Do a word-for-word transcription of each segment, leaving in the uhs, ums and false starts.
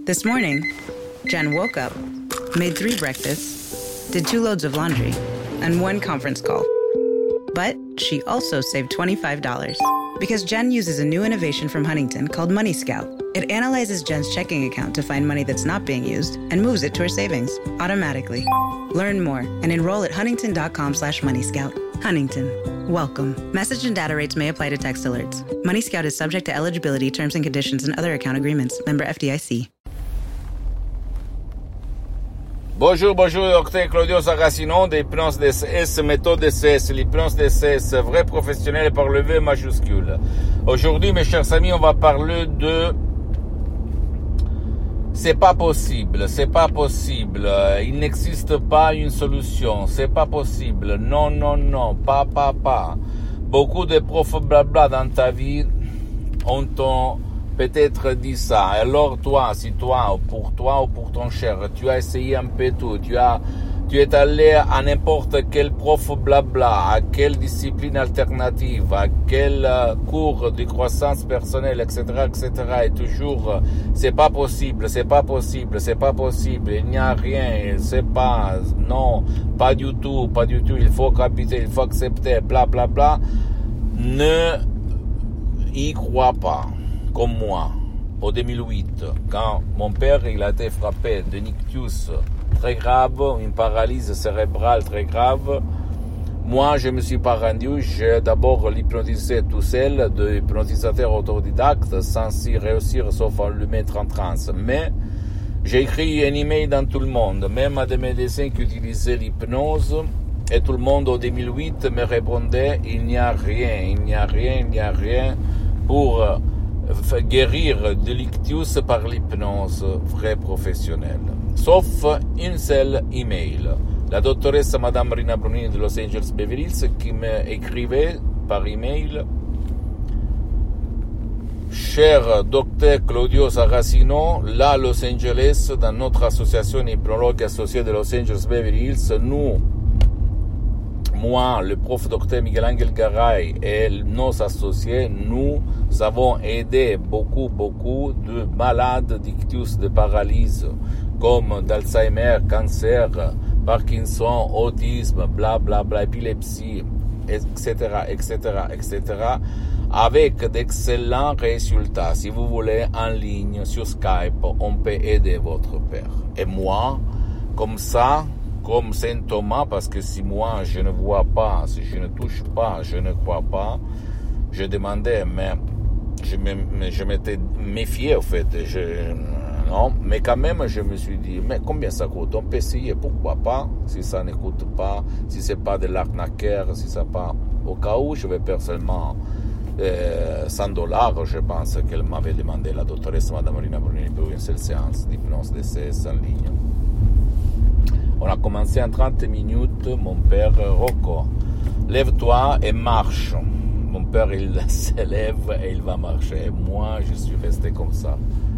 This morning, Jen woke up, made three breakfasts, did two loads of laundry, and one conference call. But she also saved twenty-five dollars because Jen uses a new innovation from Huntington called Money Scout. It analyzes Jen's checking account to find money that's not being used and moves it to her savings automatically. Learn more and enroll at huntington.com slash money scout. Huntington. Welcome. Message and data rates may apply to text alerts. Money Scout is subject to eligibility, terms and conditions, and other account agreements. Member F D I C. Bonjour, bonjour, docteur Claudio Saracino d'Hypnose D C S, méthode D C S, l'hypnose D C S, vrai professionnel par le V majuscule. Aujourd'hui, mes chers amis, on va parler de c'est pas possible, c'est pas possible, il n'existe pas une solution, c'est pas possible, non, non, non, pas, pas, pas. Beaucoup de profs blabla dans ta vie ont ton peut-être dit ça. Alors toi, si toi, ou pour toi ou pour ton cher, tu as essayé un peu tout, tu as, tu es allé à n'importe quel prof blabla, à quelle discipline alternative, à quel cours de croissance personnelle, et cetera, et cetera. Et toujours, c'est pas possible, c'est pas possible, c'est pas possible, il n'y a rien, c'est pas, non, pas du tout, pas du tout, il faut capiter, il faut accepter, bla bla bla. Ne y crois pas. Comme moi, en deux mille huit, quand mon père il a été frappé d'un ictus très grave, une paralysie cérébrale très grave, moi je me suis pas rendu, j'ai d'abord l'hypnotisé tout seul, de hypnotisateur autodidacte, sans y réussir sauf à le mettre en transe. Mais j'ai écrit un email dans tout le monde, même à des médecins qui utilisaient l'hypnose, et tout le monde en deux mille huit me répondait il n'y a rien, il n'y a rien, il n'y a rien pour guérir de l'ictus par l'hypnose vraie professionnelle. Sauf une seule email. La dottoressa Madame Rina Brunini de Los Angeles Beverly Hills qui m'écrivait par email: Cher docteur Claudio Saracino, là à Los Angeles, dans notre association hypnologue associée de Los Angeles Beverly Hills, nous, moi, le prof docteur Miguel Angel Garay et nos associés, nous avons aidé beaucoup, beaucoup de malades d'ictus, de paralysie, comme d'Alzheimer, cancer, Parkinson, autisme, bla bla bla, épilepsie, et cetera, et cetera, et cetera, avec d'excellents résultats. Si vous voulez, en ligne, sur Skype, on peut aider votre père. Et moi, comme ça, comme Saint Thomas, parce que si moi je ne vois pas, si je ne touche pas, je ne crois pas, je demandais, mais je, me, je m'étais méfié au fait, je, non, mais quand même je me suis dit, mais combien ça coûte? On peut essayer, pourquoi pas, si ça ne coûte pas, si c'est pas de l'arnaqueur, si ça pas, au cas où je vais personnellement euh, cent dollars, je pense qu'elle m'avait demandé, la doctoresse Madame Rina Brunini, pour une seule séance d'hypnose D C S en ligne. On a commencé en trente minutes, mon père Rocco, lève-toi et marche. Mon père, il se lève et il va marcher. Et moi, je suis resté comme ça.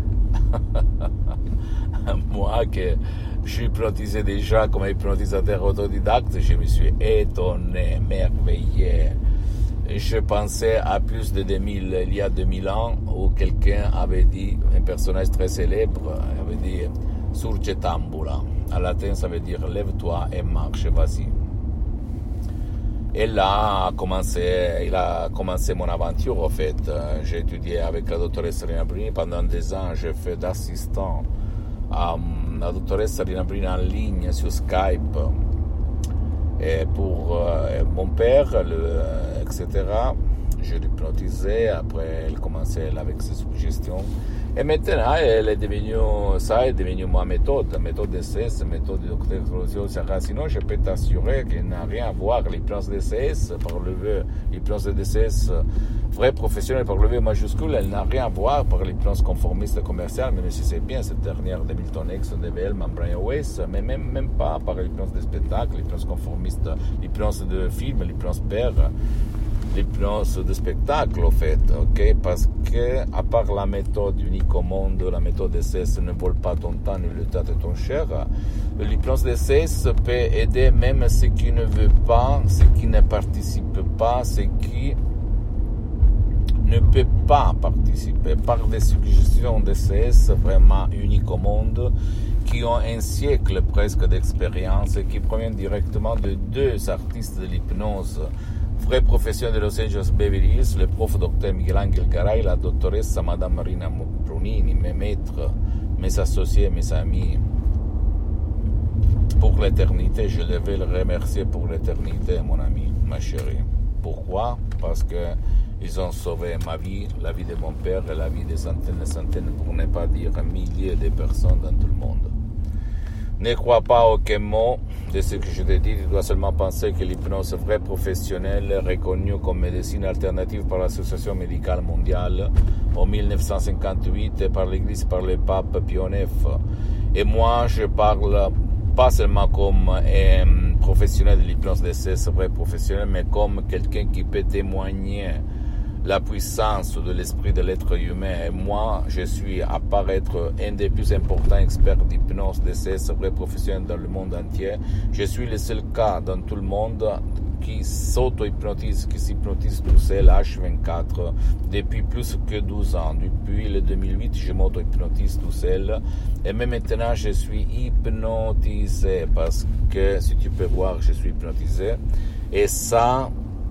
Moi, que je suis hypnotisé déjà comme hypnotisateur autodidacte, je me suis étonné, merveillé. Et je pensais à plus de deux mille, il y a deux mille ans, où quelqu'un avait dit, un personnage très célèbre, avait dit « Surge tambula ». En latin, ça veut dire « lève-toi et marche, vas-y ». Et là, a commencé, il a commencé mon aventure, en fait. J'ai étudié avec la doctoresse Rina Brunini pendant des ans. J'ai fait d'assistant à la doctoresse Rina Brunini en ligne sur Skype. Et pour euh, mon père, le, et cetera, je l'hypnotisais. Après, elle commençait avec ses suggestions. Et maintenant, elle est devenue, ça est devenu ma méthode, la méthode D C S, méthode du docteur Claudio Saracino. Je peux t'assurer qu'elle n'a rien à voir, l'hypnose D C S, par le V, l'hypnose D C S vrai professionnel par le V majuscule, elle n'a rien à voir par l'hypnose conformiste commerciale, même si c'est bien cette dernière de Milton X, de V L, Brian Weiss, mais même, même pas par l'hypnose de spectacle, l'hypnose conformiste, l'hypnose de film, l'hypnose père. L'hypnose de spectacle, en fait, ok, parce que, à part la méthode unique au monde, la méthode D C S ne vole pas ton temps ni le temps de ton cher, l'hypnose D C S peut aider même ceux qui ne veulent pas, ceux qui ne participent pas, ceux qui ne peut pas participer par des suggestions de C S vraiment uniques au monde, qui ont un siècle presque d'expérience et qui proviennent directement de deux artistes de l'hypnose, vrais professionnels de Los Angeles Beverly Hills, le prof docteur Miguel Angel Garay, la doctoresse Madame Marina Brunini, mes maîtres, mes associés, mes amis. Pour l'éternité, je devais le remercier pour l'éternité, mon ami, ma chérie. Pourquoi? Parce que ils ont sauvé ma vie, la vie de mon père et la vie de centaines et centaines, pour ne pas dire milliers de personnes dans tout le monde. Ne crois pas à aucun mot de ce que je te dis, tu dois seulement penser que l'hypnose vraie professionnelle, reconnue comme médecine alternative par l'Association médicale mondiale en dix-neuf cent cinquante-huit et par l'Église, par le pape Pie neuf. Et moi, je parle pas seulement comme un professionnel de l'hypnose de C S vrai professionnel, mais comme quelqu'un qui peut témoigner la puissance de l'esprit de l'être humain. Et moi, je suis, à part être un des plus importants experts d'hypnose de C S vrai professionnel dans le monde entier, je suis le seul cas dans tout le monde qui s'auto-hypnotise, qui s'hypnotise tout seul H vingt-quatre depuis plus que douze ans. Depuis le deux mille huit, je m'auto-hypnotise tout seul. Et même maintenant, je suis hypnotisé parce que, si tu peux voir, je suis hypnotisé. Et ça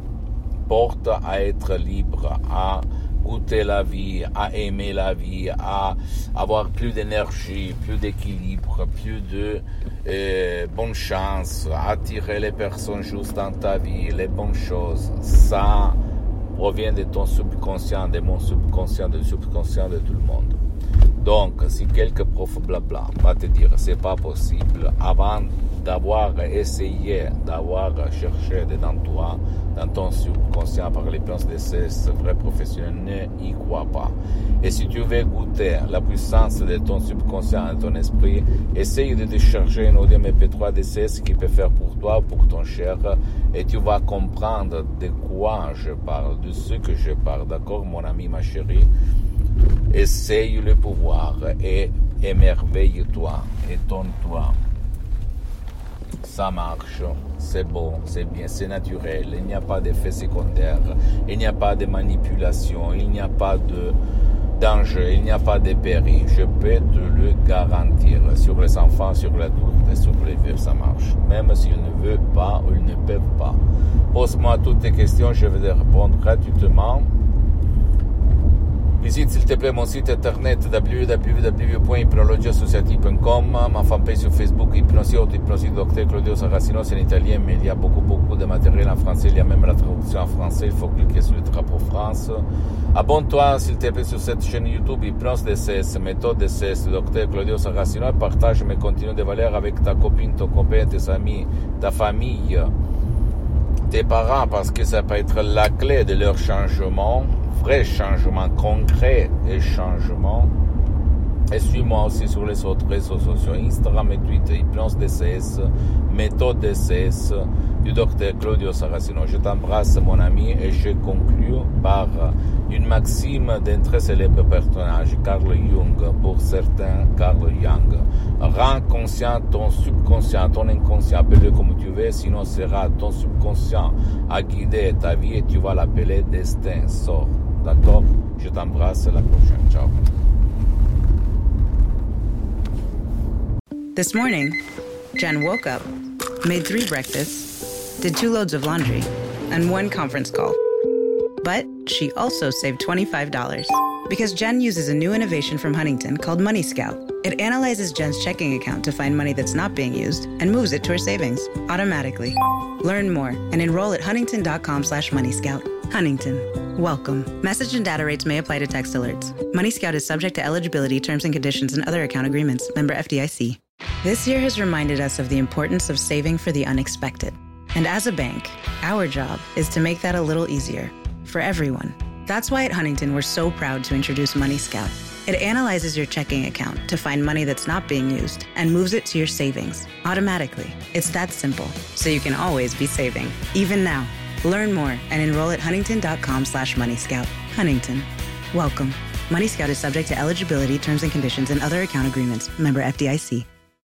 porte à être libre, à goûter la vie, à aimer la vie, à avoir plus d'énergie, plus d'équilibre, plus de euh, bonne chance, attirer les personnes justes dans ta vie, les bonnes choses. Ça provient de ton subconscient, de mon subconscient, du subconscient de tout le monde. Donc, si quelques prof blabla va te dire c'est pas possible, avant d'avoir essayé, d'avoir cherché dedans toi, dans ton subconscient par les plans de C S vrais professionnels, ne y crois pas. Et si tu veux goûter la puissance de ton subconscient, de ton esprit, essaye de décharger un audio M P trois de C S qui peut faire pour toi, pour ton cher, et tu vas comprendre de quoi je parle, de ce que je parle, d'accord, mon ami, ma chérie? Essaye le pouvoir et émerveille-toi, étonne-toi. Ça marche, c'est bon, c'est bien, c'est naturel, il n'y a pas d'effet secondaire, il n'y a pas de manipulation, il n'y a pas de danger, il n'y a pas de péril. Je peux te le garantir. Sur les enfants, sur l'adulte et sur les vieux, ça marche. Même s'ils ne veulent pas ou ils ne peuvent pas. Pose-moi toutes tes questions, je vais te répondre gratuitement. Visite s'il te plaît mon site internet w w w point hypnologie associative point com, ma fanpage sur Facebook Hypnosie Auto-Hypnosie du docteur Claudio Saracino, c'est en italien, mais il y a beaucoup beaucoup de matériel en français, il y a même la traduction en français, il faut cliquer sur le drapeau France. Abonne-toi s'il te plaît sur cette chaîne YouTube Hypnose D C S, méthode D C S du docteur Claudio Saracino, et partage mes contenus de valeur avec ta copine, ton copain, tes amis, ta famille, tes parents, parce que ça peut être la clé de leur changement, vrai changement concret et changement. Et suis-moi aussi sur les autres réseaux sociaux, Instagram et Twitter, Hypnose D C S, méthode D C S du docteur Claudio Saracino. Je t'embrasse mon ami et je conclue par une maxime d'un très célèbre personnage, Carl Jung, pour certains Carl Jung. Rends conscient ton subconscient, ton inconscient, appelle-le comme tu veux, sinon sera ton subconscient à guider ta vie et tu vas l'appeler destin. Sors, d'accord? Je t'embrasse, à la prochaine, ciao. This morning, Jen woke up, made three breakfasts, did two loads of laundry, and one conference call. But she also saved twenty-five dollars because Jen uses a new innovation from Huntington called Money Scout. It analyzes Jen's checking account to find money that's not being used and moves it to her savings automatically. Learn more and enroll at huntington.com slash Money Scout. Huntington. Welcome. Message and data rates may apply to text alerts. Money Scout is subject to eligibility, terms and conditions, and other account agreements. Member F D I C. This year has reminded us of the importance of saving for the unexpected. And as a bank, our job is to make that a little easier for everyone. That's why at Huntington, we're so proud to introduce Money Scout. It analyzes your checking account to find money that's not being used and moves it to your savings automatically. It's that simple, so you can always be saving, even now. Learn more and enroll at huntington.com slash Money Scout. Huntington. Welcome. Money Scout is subject to eligibility, terms and conditions, and other account agreements. Member F D I C.